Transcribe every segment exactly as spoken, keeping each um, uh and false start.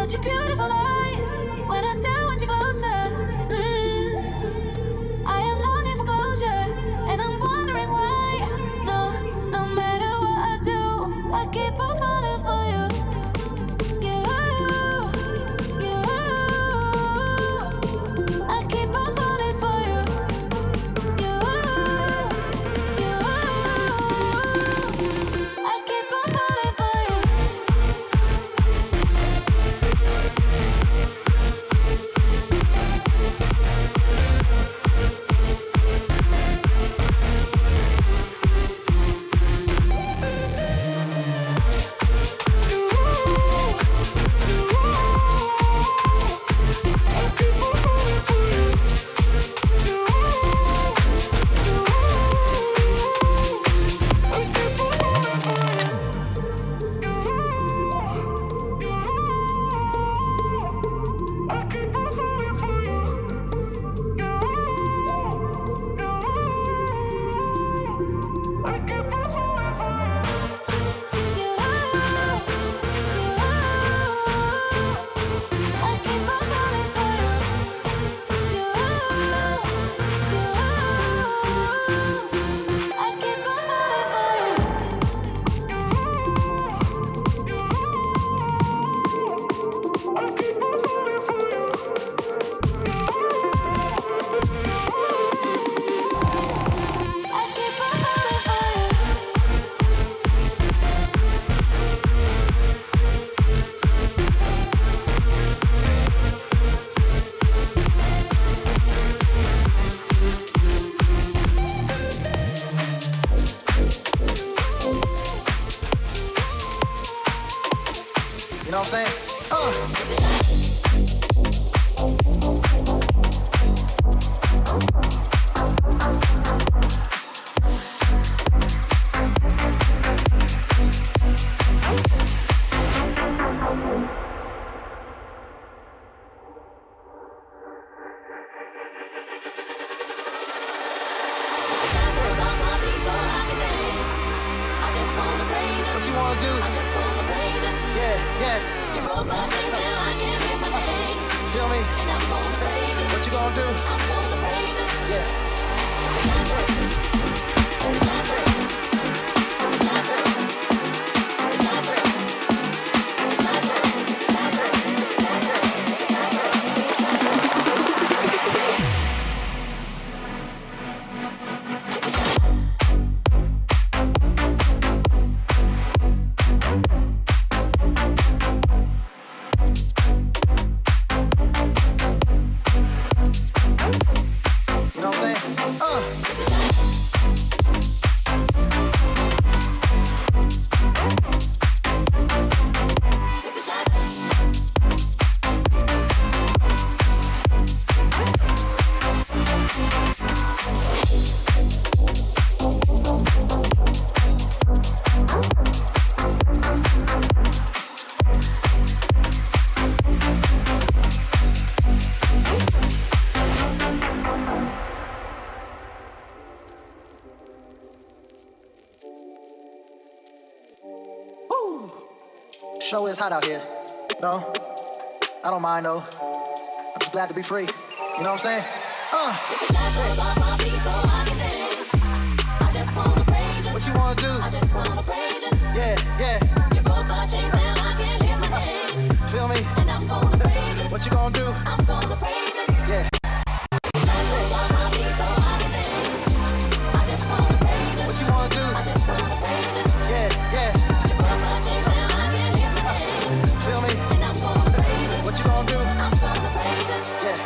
such a beautiful light. When I still want you closer, mm, I am longing for closure, and I'm wondering why. No, no matter what I do, I keep on falling for you. You, you, I keep on falling for you. You, you, I keep on falling for you. You know what I'm saying? Uh. What you wanna do? Yeah, yeah. You broke my chains, now I can't lift my head. Feel me? And I'm gonna praise you. What you gonna do? I'm gonna praise you. Yeah. Shine bright. Shine bright. Shine bright. Shine bright. You know what I'm saying? Uh. Take a shot. Woo. Show is hot out here. No, I don't mind though. I'm just glad to be free. You know what I'm saying? Uh. Take a shot, close off my feet so I can dance. I just wanna praise you. What you wanna do? I just wanna praise you. Yeah, yeah. You broke my chains, now I can't lift my head. Feel me? And I'm gonna praise you. What you gonna do? I'm gonna praise you. Yeah. Shine close off my feet so I can dance. I just wanna praise you. What you wanna do? I just wanna praise you. Yeah, yeah. You broke my chains, now I can't lift my head. Feel me? And I'm gonna praise you. What you gonna do? I'm gonna praise you. Yeah.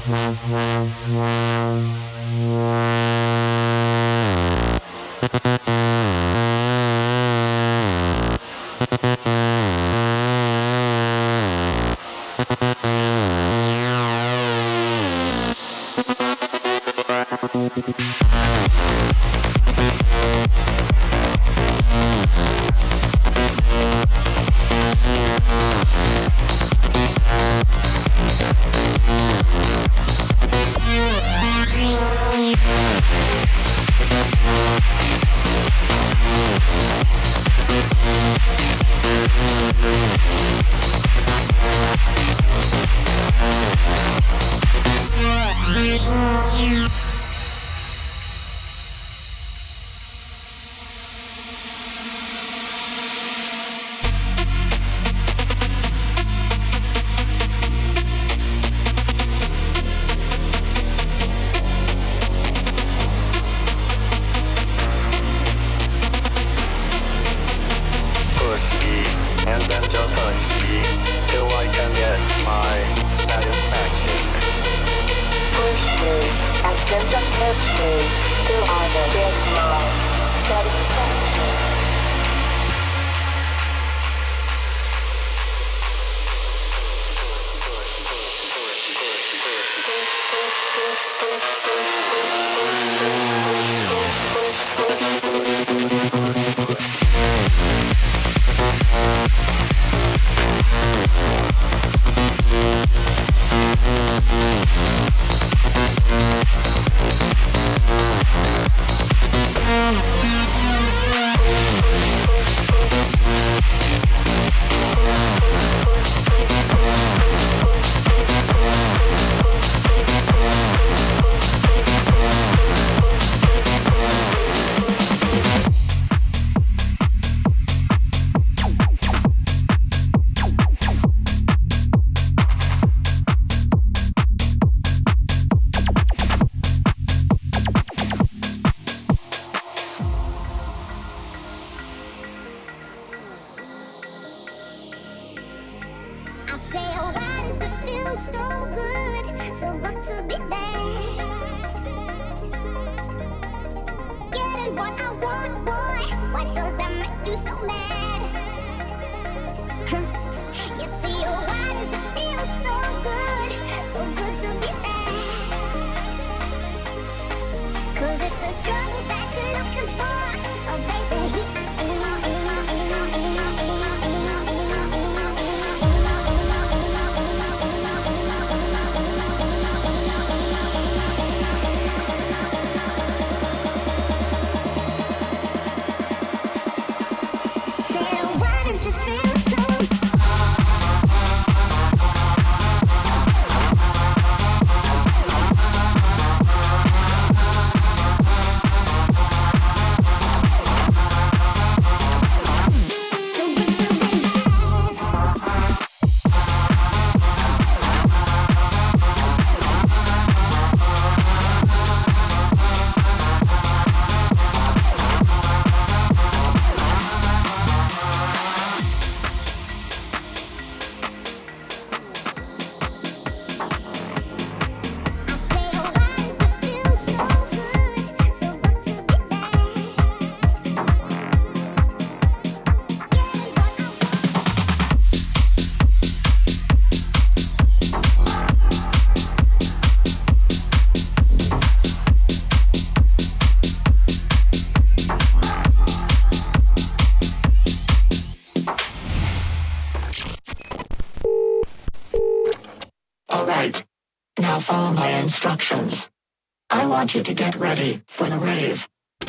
Follow my instructions. I want you to get ready for the rave.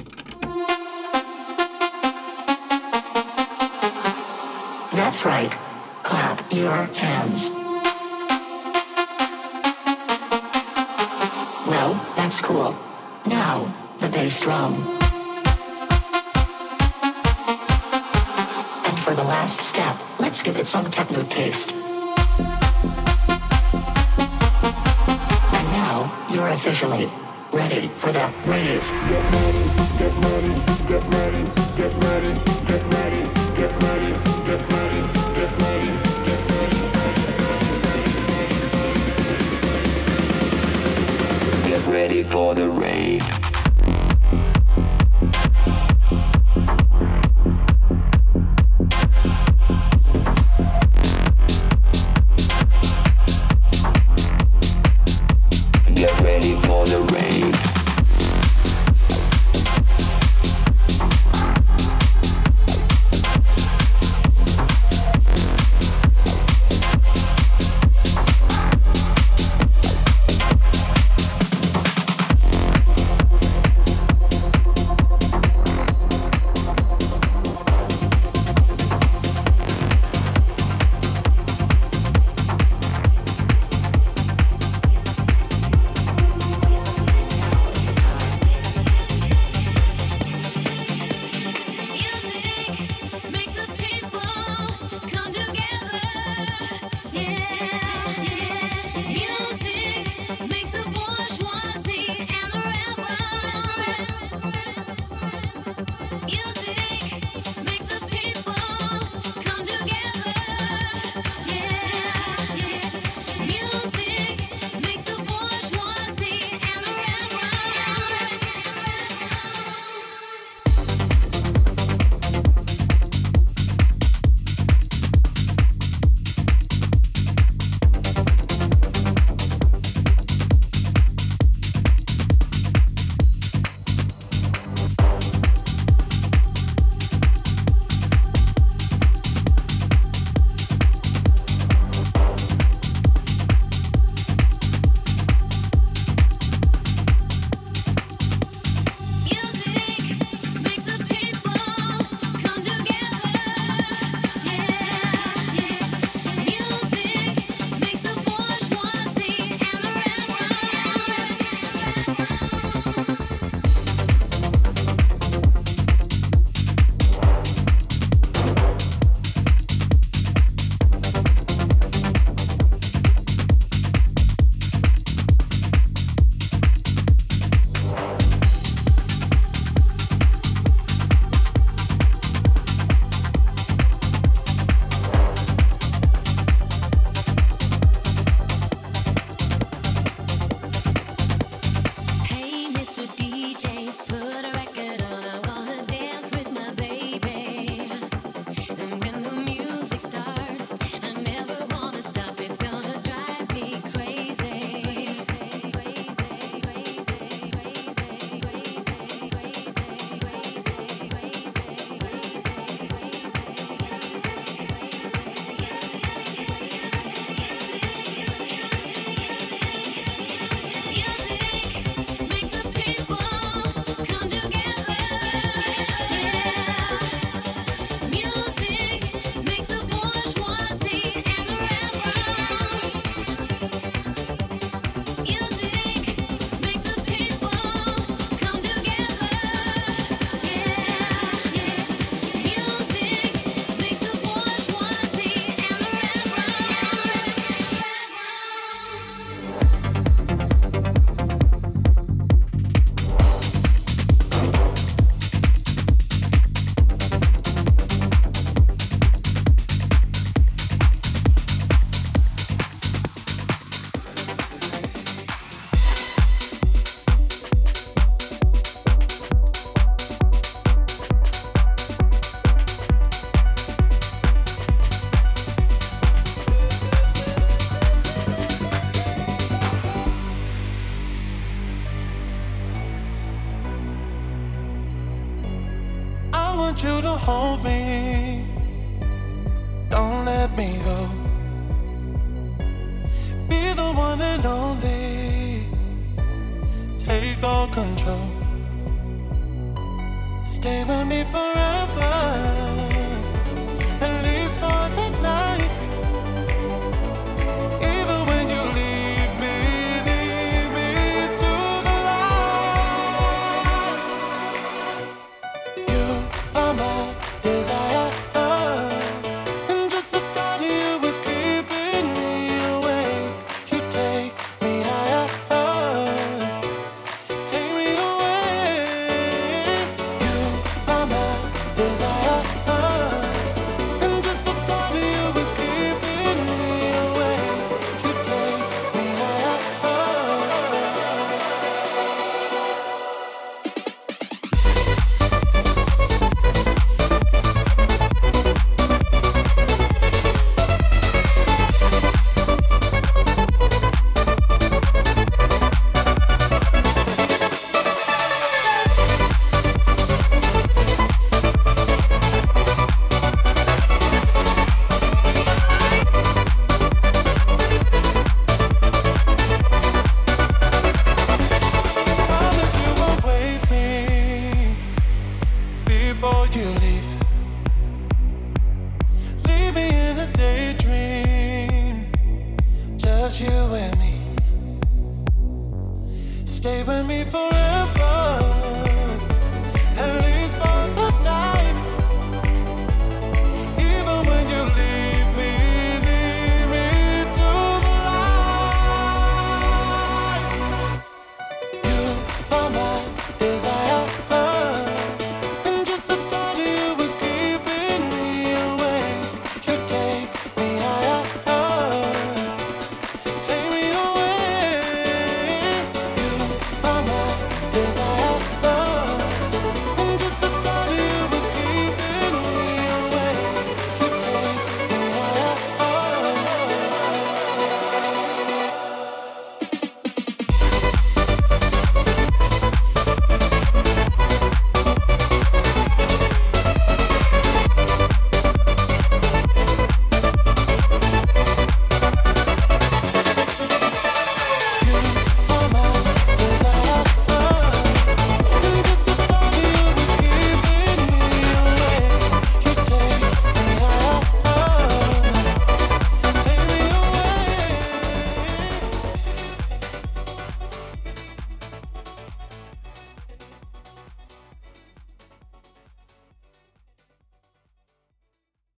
That's right. Clap your hands. Well, that's cool. Now, the bass drum. And for the last step, let's give it some techno taste. You're officially ready for the rave. Get ready, get ready, get ready, get ready, get ready, get ready, get ready, get ready, get ready. ready for the rave. Get ready for the rave. You to hold me, don't let me go. Be the one and only, take all control. Stay with me forever, at least for the night. Even when you leave me, leave me to the light. You are my desire, and just the thought of you is keeping me awake. You take me higher, take me away. You are my Stay with me forever.